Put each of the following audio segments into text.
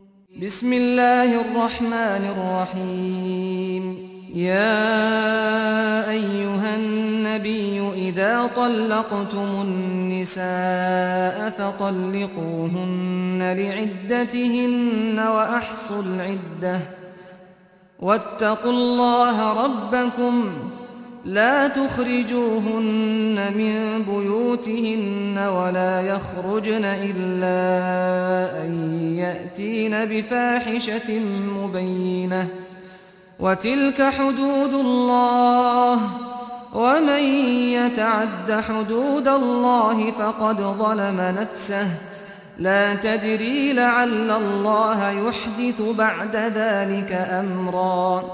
بسم الله الرحمن الرحيم يا أيها النبي إذا طلقتم النساء فطلقوهن لعدتهن وأحصوا العدة واتقوا الله ربكم لا تخرجوهن من بيوتهن ولا يخرجن إلا أن يأتين بفاحشة مبينة وتلك حدود الله ومن يتعد حدود الله فقد ظلم نفسه لا تدري لعل الله يحدث بعد ذلك أمرا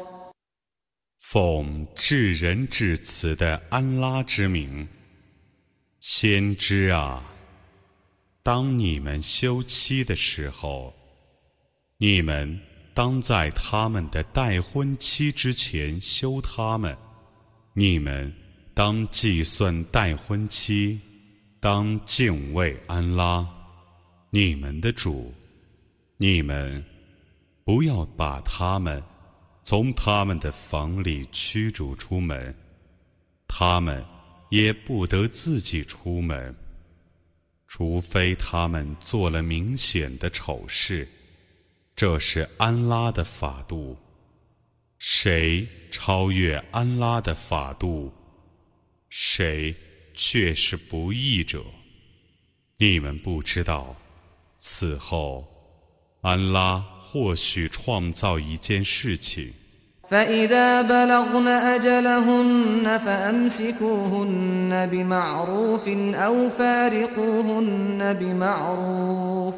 奉至仁至慈的安拉之名，先知啊，当你们休妻的时候，你们当在他们的待婚期之前休他们。你们当计算待婚期，当敬畏安拉，你们的主。你们不要把他们从他们的房里驱逐出门，他们也不得自己出门，除非他们做了明显的丑事。这是安拉的法度，谁超越安拉的法度，谁却是不义者。你们不知道，此后安拉或许创造一件事情。 فإذا بلغن أجلهن فأمسكوهن بمعروف أو فارقوهن بمعروف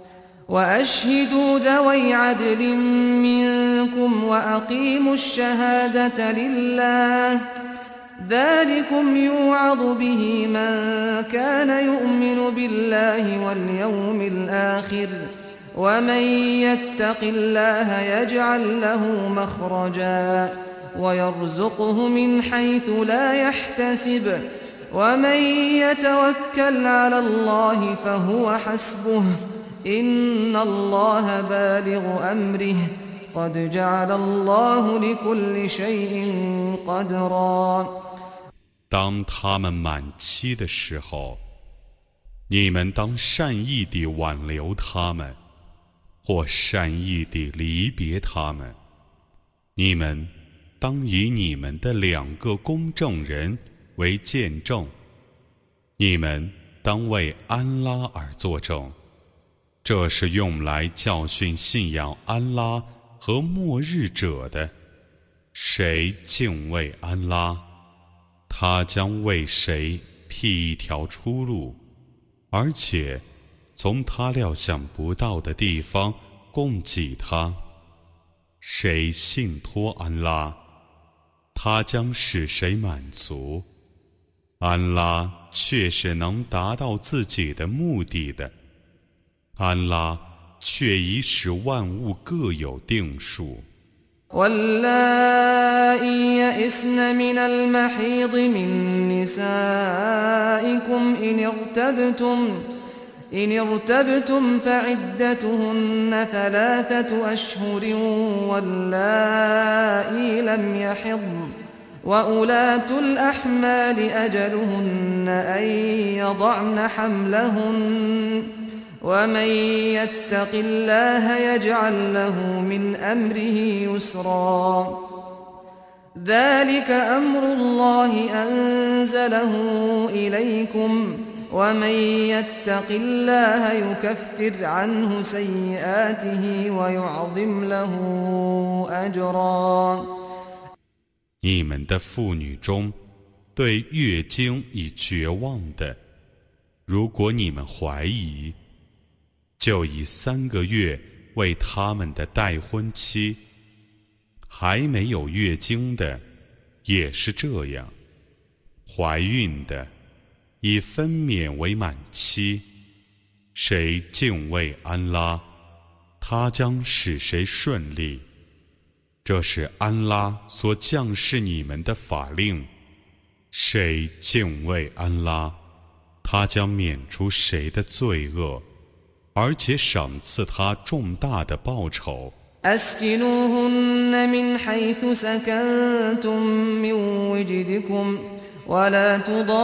وأشهدوا ذوي عدل منكم وأقيموا الشهادة لله ذلكم يوعظ به من كان يؤمن بالله واليوم الآخر ومن يتق الله يجعل له مخرجا ويرزقه من حيث لا يحتسب ومن يتوكل على الله فهو حسبه إن الله بالغ أمره قد جعل الله لكل شيء قدرا 当他们满期的时候，你们当善意地挽留他们，或善意地离别他们。你们当以你们的2个公证人为见证，你们当为安拉而作证。这是用来教训信仰安拉和末日者的。谁敬畏安拉，他将为谁辟一条出路，而且从他料想不到的地方供给他。谁信托安拉，他将使谁满足。安拉却是能达到自己的目的的。安拉却已使万物各有定数。 واللائي يئسن من المحيض من نسائكم إن ارتبتم فعدتهن 3 أشهر واللائي لم يحضن وأولاة الأحمال أجلهن أن يضعن حملهن ومن يتق الله يجعل له من أمره يسرا ذلك أمر الله أنزله إليكم ومن يتق الله يكفر عنه سيئاته ويعظم له أجرا 你们的妇女中对月经已绝望的，如果你们怀疑，就以3个月为他们的待婚期。还没有月经的也是这样，怀孕的以分娩为满期。谁敬畏安拉，他将使谁顺利。这是安拉所降示你们的法令。谁敬畏安拉，他将免除谁的罪恶。 而且赏赐他重大的报酬。 أسكنوهن من حيث سكنتم من وجدكم ولا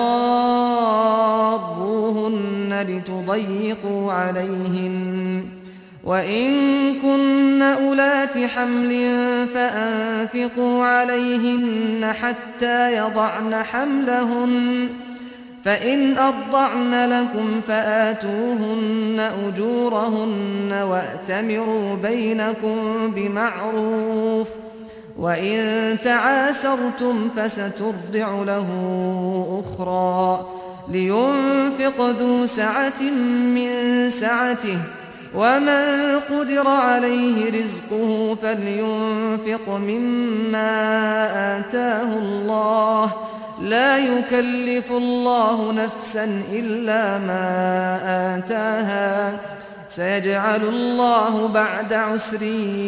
تضاروهن لتضيقوا عليهن وإن كن أولات حمل فأنفقوا عليهن حتى يضعن حملهن فإن أرضعن لكم فآتوهن أجورهن وأتمروا بينكم بمعروف وإن تعاسرتم فسترضع له أخرى لينفق ذو سعة من سعته ومن قدر عليه رزقه فلينفق مما آتاه الله لا يكلف الله نفسا إلا ما آتاها سيجعل الله بعد عسر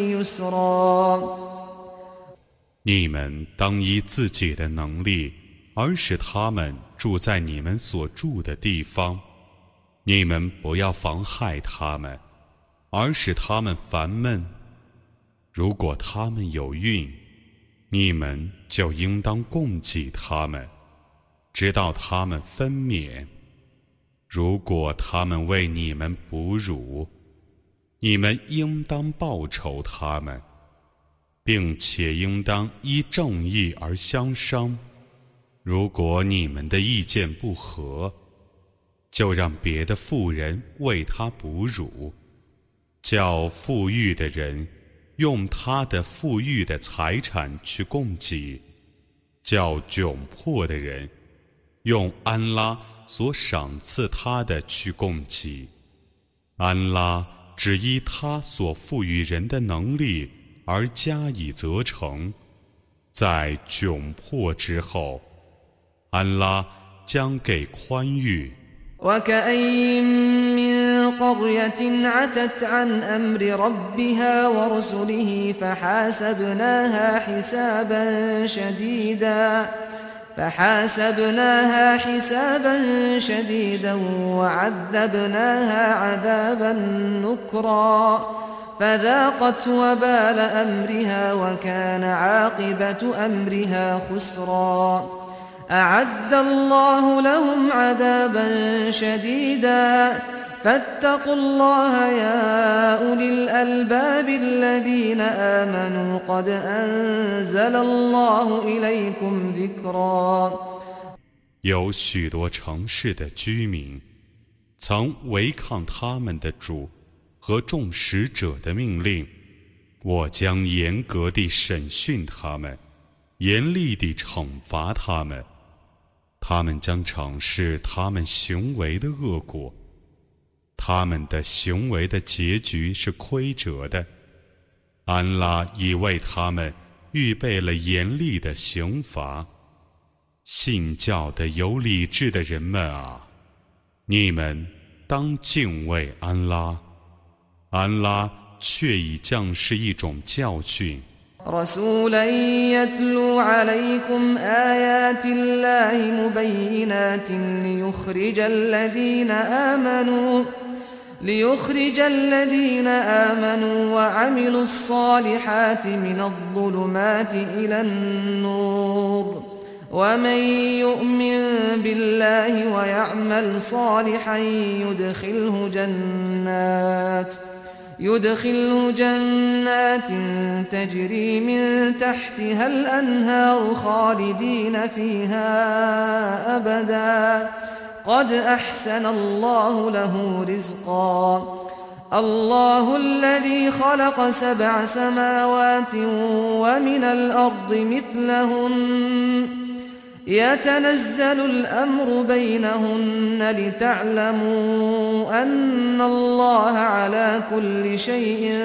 يسرا 你们当依自己的能力，而使他们住在你们所住的地方。你们不要妨害他们，而使他们烦闷。如果他们有孕，你们就应当供给他们，直到他们分娩。如果他们为你们哺乳，你们应当报酬他们，并且应当依正义而相商。如果你们的意见不合，就让别的妇人为他哺乳，叫富裕的人用他的富裕的财产去供给，叫窘迫的人用安拉所赏赐他的去供给。安拉只依他所赋予人的能力而加以责成，在窘迫之后，安拉将给宽裕。 وكأين من قرية عتت عن أمر ربها ورسله فحاسبناها حسابا شديدا وعذبناها عذابا نكرا فذاقت وبال أمرها وكان عاقبة أمرها خسرا أعد الله لهم عذابا شديدا فاتقوا الله يا أولي الألباب الذين آمنوا قد أنزل الله إليكم ذكرا 有许多城市的居民曾违抗他们的主和众使者的命令，我将严格地审讯他们，严厉地惩罚他们。他们将尝试他们行为的恶果，他们的行为的结局是亏折的。安拉已为他们预备了严厉的刑罚。信教的有理智的人们啊，你们当敬畏安拉，安拉却已降示一种教训。 رسولا يتلو عليكم آيات الله مبينات ليخرج الذين آمنوا وعملوا الصالحات من الظلمات إلى النور ومن يؤمن بالله ويعمل صالحا يدخله جنات تجري من تحتها الأنهار خالدين فيها أبدا قد أحسن الله له رزقا الله الذي خلق 7 سماوات ومن الأرض مثلهن يتنزل الأمر بينهن لتعلموا أن الله على كل شيء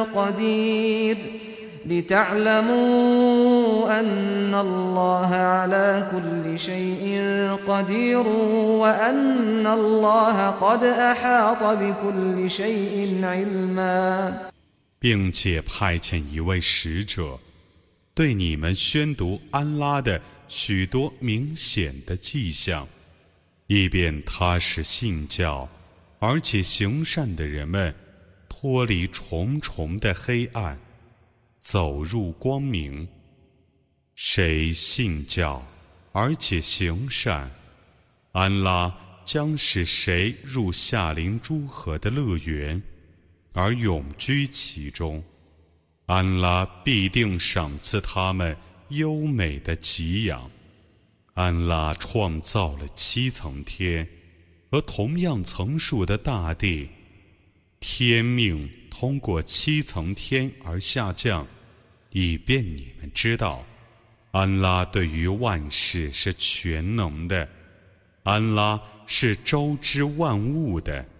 قدير وأن الله قد أحاط بكل شيء علما 并且派遣一位使者，对你们宣读安拉的许多明显的迹象，以便他使信教而且行善的人们脱离重重的黑暗，走入光明。谁信教而且行善，安拉将使谁入夏林诸河的乐园，而永居其中。安拉必定赏赐他们优美的给养。安拉创造了7层天和同样层数的大地，天命通过7层天而下降，以便你们知道，安拉对于万事是全能的，安拉是周知万物的。